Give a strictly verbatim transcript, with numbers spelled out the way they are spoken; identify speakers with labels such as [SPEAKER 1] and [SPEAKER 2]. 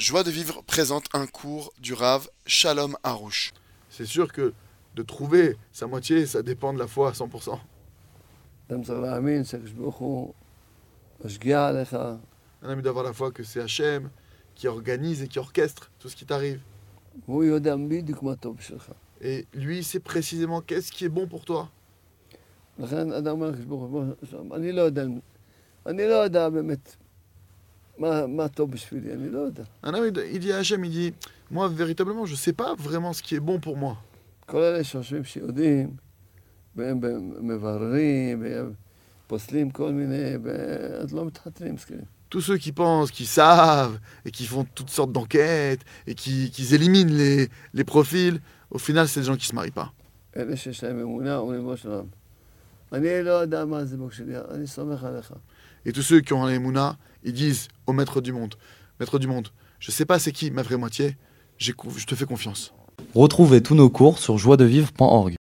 [SPEAKER 1] Joie de vivre présente un cours du Rav Shalom Harouche.
[SPEAKER 2] C'est sûr que de trouver sa moitié, ça dépend de la foi à cent pour cent.
[SPEAKER 3] אדם צריך להאמין שהקדוש ברוך הוא משגיח עליך.
[SPEAKER 2] Un ami d'avoir la foi que c'est Hachem qui organise et qui orchestre tout ce qui t'arrive.
[SPEAKER 3] והוא יודע בדיוק מה טוב בשבילך.
[SPEAKER 2] Et lui, c'est précisément qu'est-ce qui est bon pour toi.
[SPEAKER 3] לכן אדם אומר לקדוש ברוך הוא, אני לא יודע, אני לא יודע באמת מה, מה טוב בשבילי, אני לא יודע.
[SPEAKER 2] Un homme, il dit à Hachem, il dit, moi, véritablement, je ne sais pas vraiment ce qui est bon pour moi.
[SPEAKER 3] כל אלה שחושבים שיודעים, והם מבררים, והם פוסלים כל מיני, ואז לא מתחתנים זקנים.
[SPEAKER 2] Tous ceux qui pensent, qui savent, et qui font toutes sortes d'enquêtes, et qui, qui éliminent les, les profils, au final, c'est des gens qui ne se marient pas.
[SPEAKER 3] אלה שיש להם אמונה, אומרים בו שלום. אני לא יודע מה זה בוק שלי, אני סומך עליך.
[SPEAKER 2] Et tous ceux qui ont un émouna, ils disent au maître du monde, maître du monde, je ne sais pas c'est qui ma vraie moitié, j'ai, je te fais confiance.
[SPEAKER 4] Retrouvez tous nos cours sur joie de vivre point org.